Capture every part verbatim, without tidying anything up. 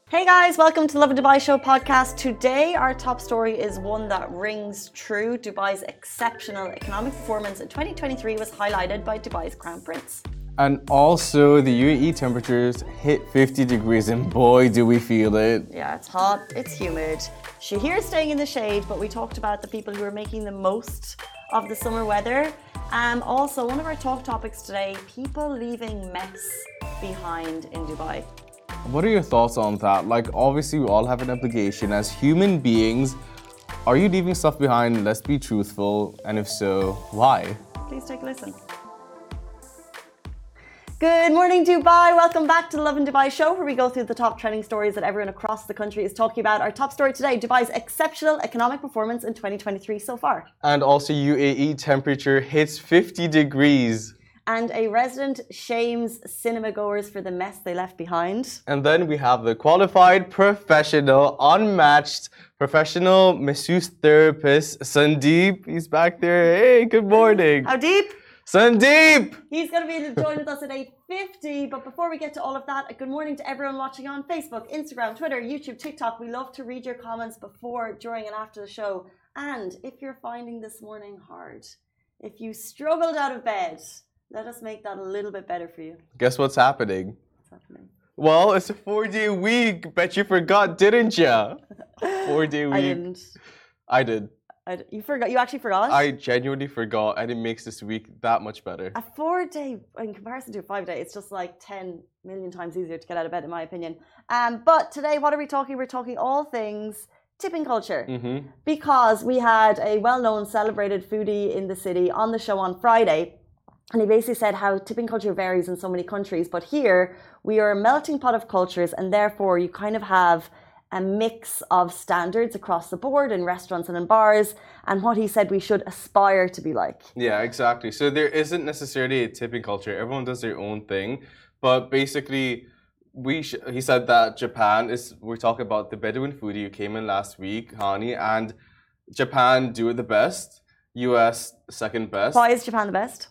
Hey guys, welcome to Lovin Dubai Show podcast. Today, our top story is one that rings true. Dubai's exceptional economic performance in twenty twenty-three was highlighted by Dubai's Crown Prince. And also, the U A E temperatures hit fifty degrees, and boy, do we feel it. Yeah, it's hot, it's humid. Shahir's staying in the shade, but we talked about the people who are making the most of the summer weather. Um, also, one of our talk topics today, people leaving mess behind in Dubai. What are your thoughts on that? Like, obviously, we all have an obligation as human beings. Are you leaving stuff behind? Let's be truthful. And if so, why? Please take a listen. Good morning, Dubai. Welcome back to the Lovin Dubai Show, where we go through the top trending stories that everyone across the country is talking about. Our top story today, Dubai's exceptional economic performance in twenty twenty-three so far. And also, U A E temperature hits fifty degrees. And a resident shames cinema goers for the mess they left behind. And then we have the qualified, professional, unmatched, professional masseuse therapist, Sandeep. He's back there. Hey, good morning. How deep? Sandeep! He's going to be joined with us at eight fifty. But before we get to all of that, a good morning to everyone watching on Facebook, Instagram, Twitter, YouTube, TikTok. We love to read your comments before, during, and after the show. And if you're finding this morning hard, if you struggled out of bed, let us make that a little bit better for you. Guess what's happening? What's happening? Well, it's a four-day week. Bet you forgot, didn't you? Four-day week. I didn't. I did. I, you forgot. You actually forgot? I genuinely forgot, and it makes this week that much better. A four-day, in comparison to a five-day, it's just like ten million times easier to get out of bed, in my opinion. Um, but today, what are we talking? We're talking all things tipping culture. Mm-hmm. Because we had a well-known, celebrated foodie in the city on the show on Friday. And he basically said how tipping culture varies in so many countries. But here, we are a melting pot of cultures, and therefore you kind of have a mix of standards across the board in restaurants and in bars, and what he said we should aspire to be like. Yeah, exactly. So there isn't necessarily a tipping culture. Everyone does their own thing. But basically, we sh- he said that Japan is, we're talking about the Bedouin foodie who came in last week, Hani, and Japan do it the best, U S second best. Why is Japan the best?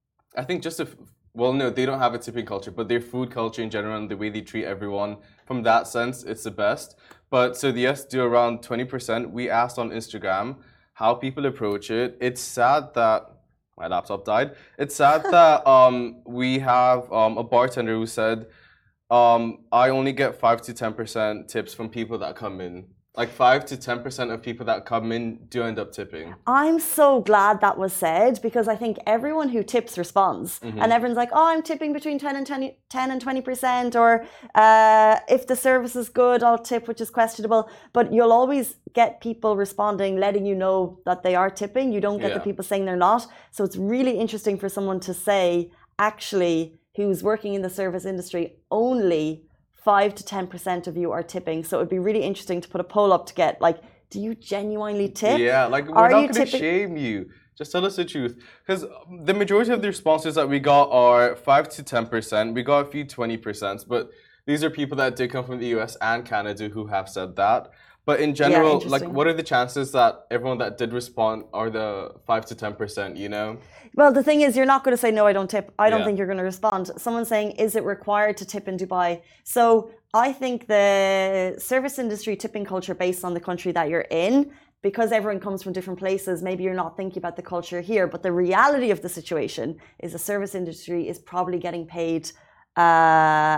I think just if, well, no, they don't have a tipping culture, but their food culture in general and the way they treat everyone, from that sense, it's the best. But so the U S do around twenty percent. We asked on Instagram how people approach it. It's sad that my laptop died. It's sad that um, we have um, a bartender who said, um, I only get five to ten percent tips from people that come in. Like five to ten percent of people that come in do end up tipping. I'm so glad that was said, because I think everyone who tips responds. Mm-hmm. And everyone's like, oh, I'm tipping between ten and twenty percent, or uh, if the service is good, I'll tip, which is questionable. But you'll always get people responding, letting you know that they are tipping. You don't get Yeah. the people saying they're not. So it's really interesting for someone to say, actually, who's working in the service industry, only five to ten percent of you are tipping. So it would be really interesting to put a poll up to get, like, do you genuinely tip? Yeah, like, we're Are not you going to tipping- shame you. Just tell us the truth. Because the majority of the responses that we got are five to ten percent. We got a few twenty percent, but these are people that did come from the U S and Canada who have said that. But in general, Yeah, like, what are the chances that everyone that did respond are the five to ten percent, you know? Well, the thing is, you're not going to say, no, I don't tip. I don't Yeah. think you're going to respond. Someone's saying, is it required to tip in Dubai? So I think the service industry tipping culture based on the country that you're in, because everyone comes from different places, maybe you're not thinking about the culture here. But the reality of the situation is the service industry is probably getting paid uh,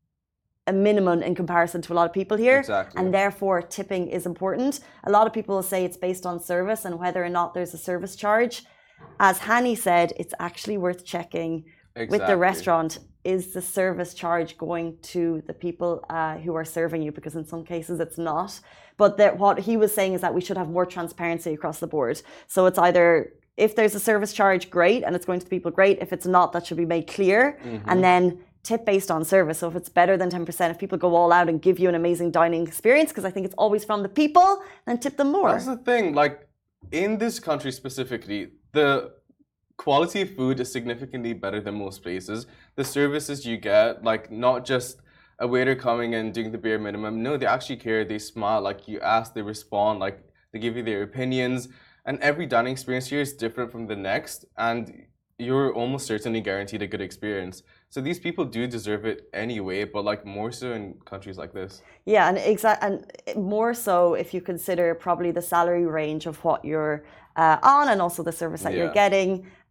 a minimum in comparison to a lot of people here. Exactly. And therefore, tipping is important. A lot of people will say it's based on service and whether or not there's a service charge. As Hani said, it's actually worth checking Exactly. with the restaurant. Is the service charge going to the people uh, who are serving you? Because in some cases it's not. But that what he was saying is that we should have more transparency across the board. So it's either, if there's a service charge, great, and it's going to the people, great. If it's not, that should be made clear. Mm-hmm. And then tip based on service. So if it's better than ten percent, if people go all out and give you an amazing dining experience, because I think it's always from the people, then tip them more. That's the thing. Like, in this country specifically, the quality of food is significantly better than most places. The services you get, like, not just a waiter coming and doing the bare minimum. No, they actually care. They smile. Like, you ask, they respond. Like, they give you their opinions. And every dining experience here is different from the next. And you're almost certainly guaranteed a good experience. So these people do deserve it anyway, but like more so in countries like this. Yeah, and exact and more so if you consider probably the salary range of what you're uh, on and also the service that Yeah. you're getting.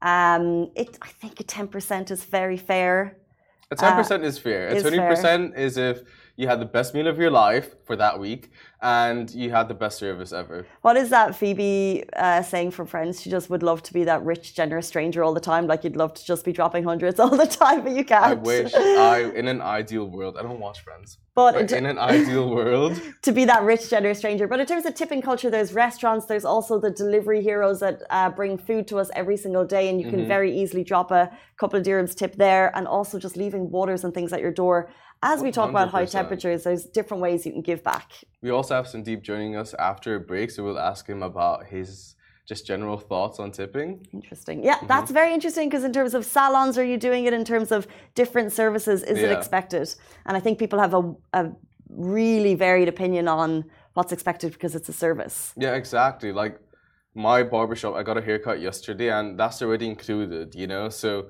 Um, it I think a ten percent is very fair. A ten percent uh, is fair. A twenty percent fair. Is if you had the best meal of your life for that week and you had the best service ever. What is that Phoebe uh, saying from Friends? She just would love to be that rich, generous stranger all the time. Like you'd love to just be dropping hundreds all the time, but you can't. I wish. I in an ideal world. I don't watch Friends. But, but in an ideal world, to be that rich, generous stranger. But in terms of tipping culture, there's restaurants. There's also the delivery heroes that uh, bring food to us every single day, and you can mm-hmm. very easily drop a couple of dirhams tip there. And also just leaving waters and things at your door. As we talk one hundred percent. About high temperatures, there's different ways you can give back. We also have Sandeep joining us after a break, so we'll ask him about his just general thoughts on tipping. Interesting. Yeah, mm-hmm. That's very interesting because in terms of salons, are you doing it in terms of different services? Is yeah. it expected? And I think people have a, a really varied opinion on what's expected because it's a service. Yeah, exactly. Like my barbershop, I got a haircut yesterday and that's already included, you know? So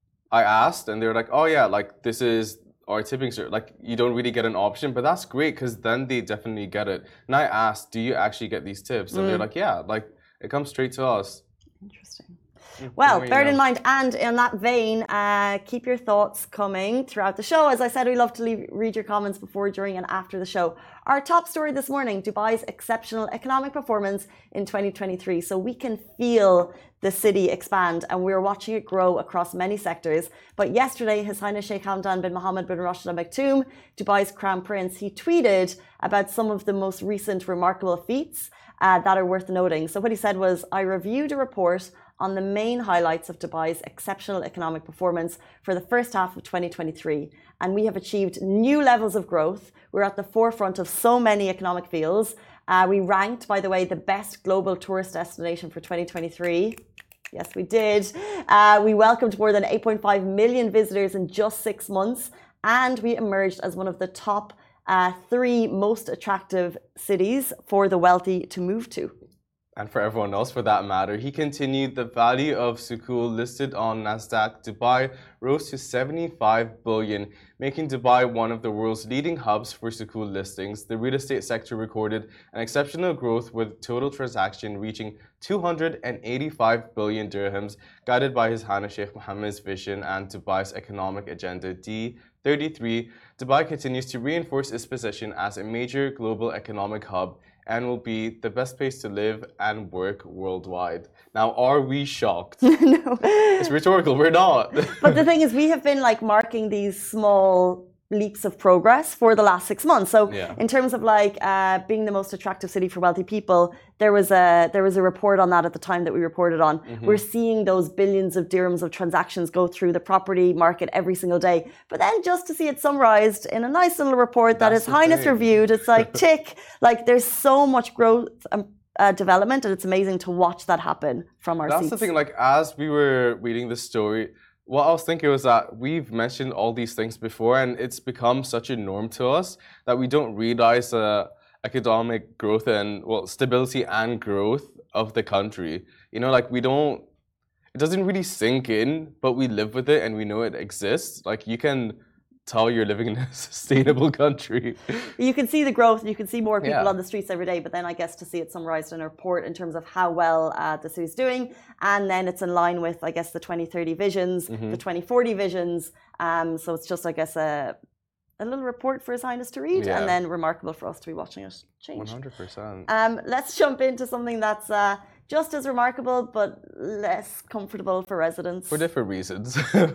I asked and they were like, oh yeah, like this is our tipping service. Like you don't really get an option, but that's great because then they definitely get it. And I asked, do you actually get these tips? And mm. they're like, yeah, like it comes straight to us. Interesting. Well, bear it in mind, and in that vein, uh, keep your thoughts coming throughout the show. As I said, we love to leave, read your comments before, during, and after the show. Our top story this morning, Dubai's exceptional economic performance in twenty twenty-three. So we can feel the city expand, and we're watching it grow across many sectors. But yesterday, His Highness Sheikh Hamdan bin Mohammed bin Rashid Al Maktoum, Dubai's Crown Prince, he tweeted about some of the most recent remarkable feats uh, that are worth noting. So what he said was, I reviewed a report on the main highlights of Dubai's exceptional economic performance for the first half of twenty twenty-three. And we have achieved new levels of growth. We're at the forefront of so many economic fields. Uh, we ranked, by the way, the best global tourist destination for twenty twenty-three. Yes, we did. Uh, we welcomed more than eight point five million visitors in just six months. And we emerged as one of the top uh, three most attractive cities for the wealthy to move to. And for everyone else for that matter, he continued, the value of Sukuk listed on Nasdaq Dubai rose to seventy-five billion, making Dubai one of the world's leading hubs for Sukuk listings. The real estate sector recorded an exceptional growth with total transaction reaching two hundred eighty-five billion dirhams, guided by His Highness Sheikh Mohammed's vision and Dubai's economic agenda D thirty-three. Dubai continues to reinforce its position as a major global economic hub and will be the best place to live and work worldwide. Now, are we shocked? No. It's rhetorical, we're not. But the thing is, we have been like marking these small leaps of progress for the last six months. So yeah. in terms of like uh, being the most attractive city for wealthy people, there was a there was a report on that at the time that we reported on. Mm-hmm. We're seeing those billions of dirhams of transactions go through the property market every single day. But then just to see it summarized in a nice little report that That's His Highness thing. reviewed, it's like tick. Like there's so much growth and uh, development, and it's amazing to watch that happen from our That's seats. the thing, like as we were reading the story, what I was thinking was that we've mentioned all these things before and it's become such a norm to us that we don't realize the economic growth and, well, stability and growth of the country. You know, like we don't, it doesn't really sink in, but we live with it and we know it exists. Like you can tell you're living in a sustainable country. You can see the growth, you can see more people Yeah. on the streets every day, but then I guess to see it summarized in a report in terms of how well uh, the city's doing, and then it's in line with, I guess, the twenty thirty visions, Mhm. the twenty forty visions. Um, so it's just, I guess, a, a little report for His Highness to read, Yeah. and then remarkable for us to be watching it change. one hundred percent. Um, let's jump into something that's uh, just as remarkable, but less comfortable for residents. For different reasons.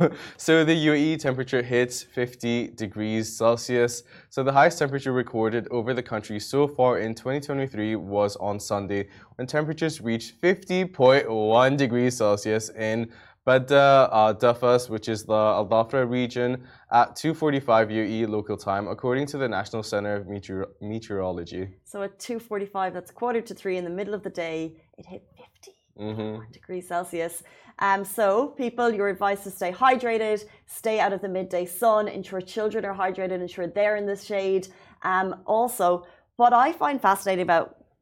So the U A E temperature hits fifty degrees Celsius. So the highest temperature recorded over the country so far in twenty twenty-three was on Sunday, when temperatures reached fifty point one degrees Celsius in Badda uh, Dafas, which is the Al Dhafra region, at two forty-five U A E local time, according to the National Center of Meteor Meteorology. So at two forty-five, that's quarter to three in the middle of the day, it hit fifty Mm-hmm. degrees Celsius. Um, so people, you're advised to stay hydrated, stay out of the midday sun, ensure children are hydrated, ensure they're in the shade. Um, also, what I find fascinating about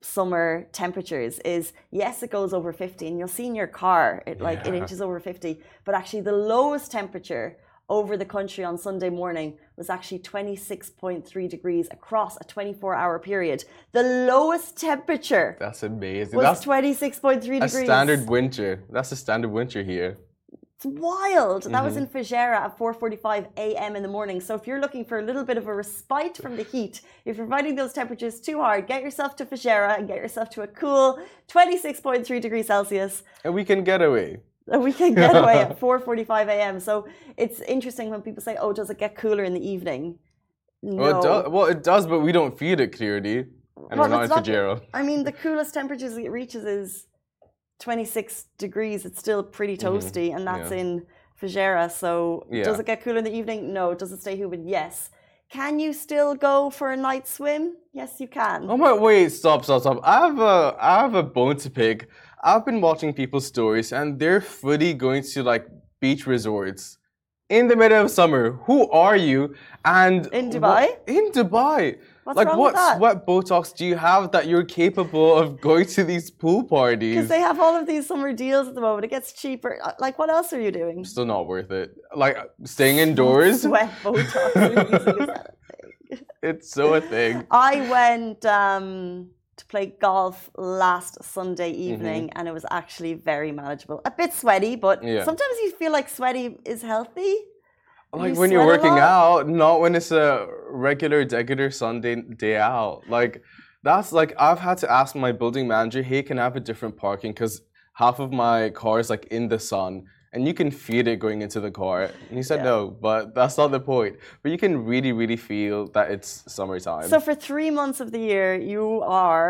summer temperatures is, yes, it goes over fifty, and you'll see in your car it like Yeah. it inches over fifty, but actually the lowest temperature over the country on Sunday morning was actually twenty-six point three degrees across a twenty-four hour period. The lowest temperature That's amazing. was That's twenty-six point three a degrees. standard winter. That's a standard winter here. It's wild. That was Mm-hmm. in Fujairah at four forty-five a m in the morning. So if you're looking for a little bit of a respite from the heat, if you're finding those temperatures too hard, get yourself to Fujairah and get yourself to a cool twenty-six point three degrees Celsius. And we can get away. A weekend getaway at four forty-five a m. So it's interesting when people say, "Oh, does it get cooler in the evening?" No. Well, it does, well, it does, but we don't feel it clearly. And Well, we're not in it's not- Fujairah. I mean, the coolest temperatures it reaches is twenty-six degrees. It's still pretty toasty, and that's Yeah. in Fujairah. So Yeah. does it get cooler in the evening? No. Does it stay humid? Yes. Can you still go for a night swim? Yes, you can. Oh my, wait, stop, stop, stop. I have a, I have a bone to pick. I've been watching people's stories and they're fully going to like beach resorts in the middle of summer. Who are you? And In Dubai? What, in Dubai. What's like wrong what with that? sweat Botox do you have that you're capable of going to these pool parties? Because they have all of these summer deals at the moment. It gets cheaper. Uh, Like, what else are you doing? Still not worth it. Like staying indoors, Sweat Botox. You're using, is that a thing? it's so a thing. I went um, to play golf last Sunday evening, and it was actually very manageable. A bit sweaty, but Mm-hmm. Yeah. sometimes you feel like sweaty is healthy. Like You when you're sweat a working lot? out, not when it's a regular, regular Sunday day out. Like that's like I've had to ask my building manager, "Hey, can I have a different parking? Because half of my car is like in the sun, and you can feel it going into the car." And he said, Yeah. "No, but that's not the point. But you can really, really feel that it's summertime." So for three months of the year, you are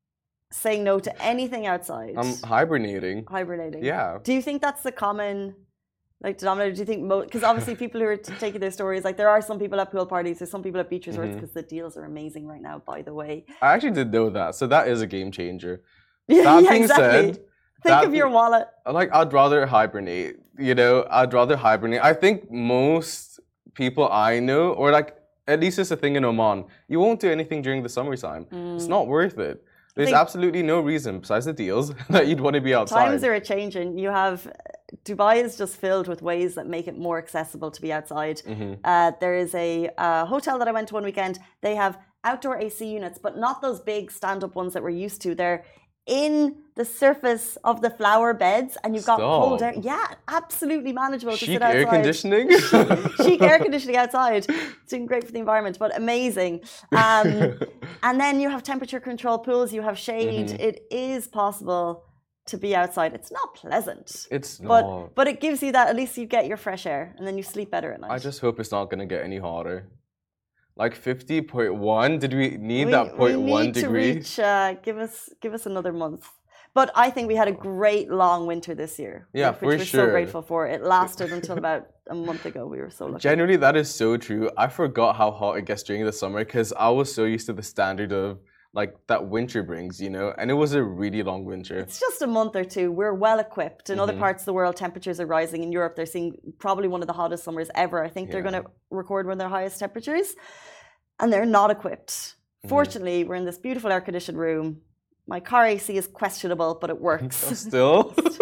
saying no to anything outside, I'm hibernating. hibernating. Yeah. Do you think that's the common, like, denominator? Do you think most? Because obviously, people who are t- taking their stories, like, there are some people at pool parties, there's some people at beach resorts, because the deals are amazing right now. By the way, I actually did know that, so that is a game changer. yeah, That yeah, being exactly. said, Think that of be- your wallet. Like I'd rather hibernate, you know, I'd rather hibernate. I think most people I know, or like at least it's a thing in Oman, you won't do anything during the summertime. It's not worth it. There's think- absolutely no reason besides the deals that you'd want to be outside. Times are changing. You have Dubai is just filled with ways that make it more accessible to be outside. Mm-hmm. Uh, there is a uh, hotel that I went to one weekend. They have outdoor A C units, but not those big stand-up ones that we're used to. They're in the surface of the flower beds, and you've got Stop. cold air. Yeah, absolutely manageable to Chic sit outside. air conditioning. Chic air conditioning outside. It's doing great for the environment, but amazing. Um, and then you have temperature control pools, you have shade. Mm-hmm. It is possible to be outside. It's not pleasant, It's but not. but it gives you that, at least you get your fresh air and then you sleep better at night. I just hope it's not going to get any hotter. Like fifty point one? Did we need we, that point we one need degree? to reach, uh, give us give us another month. But I think we had a great long winter this year. Yeah, which for we're so sure. grateful for. It lasted until about a month ago. We were so lucky. Generally, that is so true. I forgot how hot it gets during the summer because I was so used to the standard of like that winter brings, you know, and it was a really long winter. It's just a month or two. We're well equipped. In other Mm-hmm. parts of the world, temperatures are rising. In Europe, they're seeing probably one of the hottest summers ever. I think they're Yeah. going to record one of their highest temperatures, and they're not equipped. Mm-hmm. Fortunately, we're in this beautiful air conditioned room. My car A C is questionable, but it works. Still?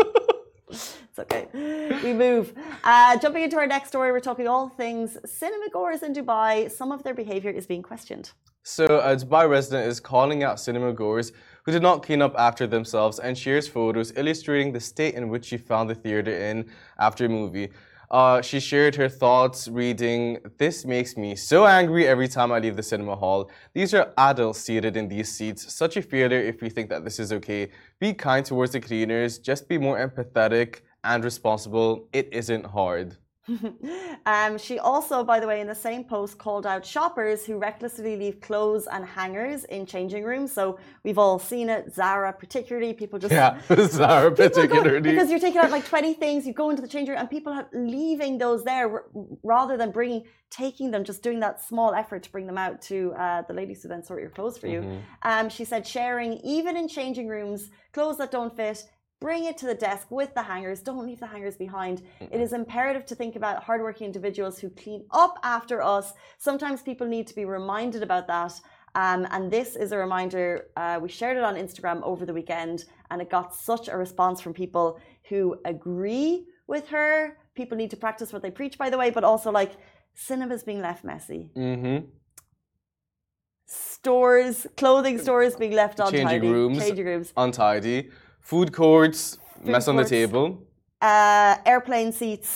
It's okay. We move. Uh, jumping into our next story, we're talking all things cinema goers in Dubai. Some of their behavior is being questioned. So, a Dubai resident is calling out cinema goers who did not clean up after themselves and shares photos illustrating the state in which she found the theater in after a movie. Uh, she shared her thoughts reading, "This makes me so angry every time I leave the cinema hall. These are adults seated in these seats. Such a failure if we think that this is okay. Be kind towards the cleaners. Just be more empathetic and responsible. It isn't hard." um, she also, by the way, in the same post called out shoppers who recklessly leave clothes and hangers in changing rooms. So we've all seen it. Zara, particularly, people just Yeah, Zara People go- particularly. because you're taking out like twenty things, you go into the change room, and people are leaving those there r- rather than bringing, taking them, just doing that small effort to bring them out to uh, the ladies who then sort your clothes for you. Um, she said, sharing, even in changing rooms, clothes that don't fit. Bring it to the desk with the hangers. Don't leave the hangers behind. Mm-hmm. It is imperative to think about hardworking individuals who clean up after us. Sometimes people need to be reminded about that. Um, and this is a reminder, uh, we shared it on Instagram over the weekend, and it got such a response from people who agree with her. People need to practice what they preach, by the way, but also like cinema's being left messy. Mm-hmm. Stores, clothing stores being left untidy. Changing rooms, Changing rooms. untidy. Food courts, Food mess on the courts. table. Uh, airplane seats.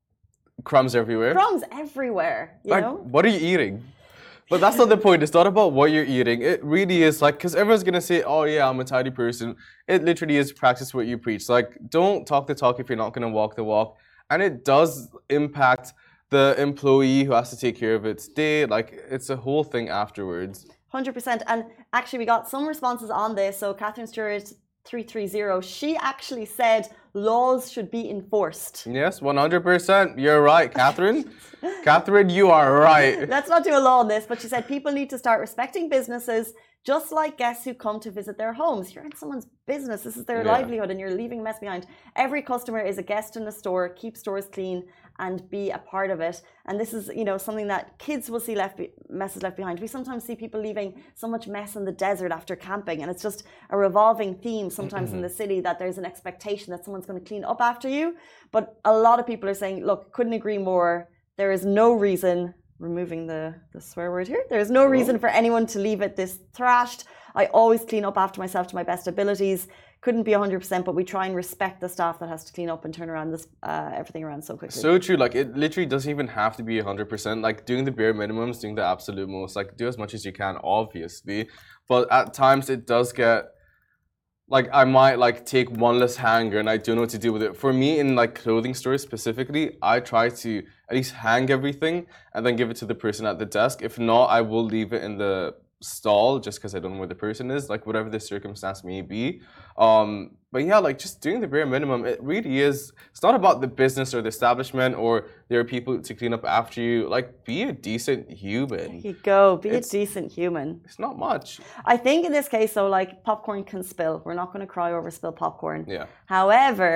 Crumbs everywhere. Crumbs everywhere, you like, know? what are you eating? But that's not the point. It's not about what you're eating. It really is like, because everyone's going to say, oh yeah, I'm a tidy person. It literally is practice what you preach. Like, don't talk the talk if you're not going to walk the walk. And it does impact the employee who has to take care of its day. Like, it's a whole thing afterwards. one hundred percent. And actually, we got some responses on this. So Catherine Stewart three three zero, she actually said laws should be enforced. Yes, one hundred percent. You're right, Catherine. Catherine, you are right. Let's not do a law on this, but she said people need to start respecting businesses just like guests who come to visit their homes. You're in someone's business. This is their Yeah. livelihood and you're leaving a mess behind. Every customer is a guest in the store. Keep stores clean and be a part of it. And this is, you know, something that kids will see left be- messes left behind. We sometimes see people leaving so much mess in the desert after camping, and it's just a revolving theme sometimes mm-hmm. in the city that there's an expectation that someone's going to clean up after you. But a lot of people are saying, look, couldn't agree more. There is no reason, removing the, the swear word here, there is no reason for anyone to leave it this thrashed. I always clean up after myself to my best abilities. Couldn't be one hundred percent, but we try and respect the staff that has to clean up and turn around this uh, everything around so quickly. So true. Like, it literally doesn't even have to be one hundred percent. Like, doing the bare minimums, doing the absolute most. Like, do as much as you can, obviously. But at times, it does get... Like, I might, like, take one less hanger and I don't know what to do with it. For me, in, like, clothing stores specifically, I try to at least hang everything and then give it to the person at the desk. If not, I will leave it in the stall just because I don't know where the person is, like, whatever the circumstance may be. Um, but yeah, like, just doing the bare minimum, it really is, it's not about the business or the establishment or there are people to clean up after you. Like, be a decent human. There you go, be it's, a decent human. It's not much. I think in this case, though, like, popcorn can spill. We're not going to cry over spilled popcorn. Yeah. However,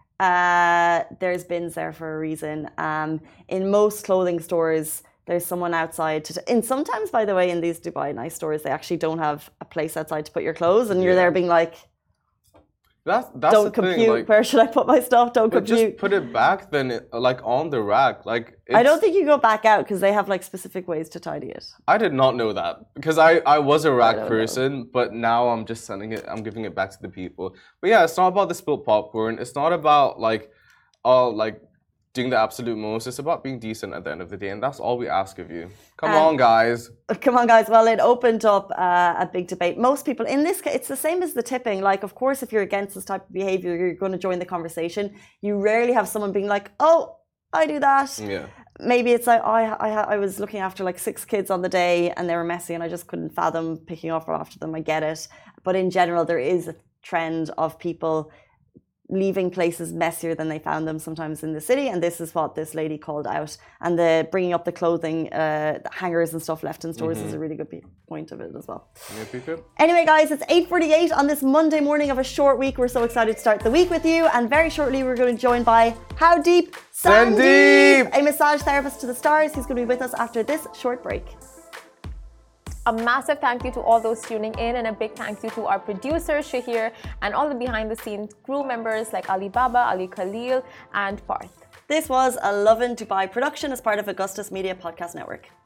uh, there's bins there for a reason. Um, in most clothing stores, there's someone outside. To t- and sometimes, by the way, in these Dubai nice stores, they actually don't have a place outside to put your clothes, and you're yeah. there being like, That's, that's don't the compute. Thing, like, where should I put my stuff? Don't but compute. Just put it back, then, it, like, on the rack. Like, it's... I don't think you go back out because they have like specific ways to tidy it. I did not know that because I, I was a rack person, know. But now I'm just sending it. I'm giving it back to the people. But yeah, it's not about the spilled popcorn. It's not about like, oh, like. doing the absolute most. It's about being decent at the end of the day, and that's all we ask of you. Come um, on, guys. Come on, guys. Well, it opened up uh, a big debate. Most people, in this case, it's the same as the tipping. Like, of course, if you're against this type of behavior, you're going to join the conversation. You rarely have someone being like, oh, I do that. Yeah. Maybe it's like, I, I, I was looking after like six kids on the day and they were messy and I just couldn't fathom picking up after them. I get it. But in general, there is a trend of people leaving places messier than they found them sometimes in the city, and this is what this lady called out. And the bringing up the clothing, uh, the hangers and stuff left in stores mm-hmm. is a really good point of it as well. Yeah, anyway, guys, it's eight forty-eight on this Monday morning of a short week. We're so excited to start the week with you, and very shortly we're going to be joined by How Deep? Sandeep, a massage therapist to the stars. He's going to be with us after this short break. A massive thank you to all those tuning in, and a big thank you to our producer Shahir and all the behind the scenes crew members like Ali Baba, Ali Khalil and Parth. This was a Lovin Dubai production as part of Augustus Media Podcast Network.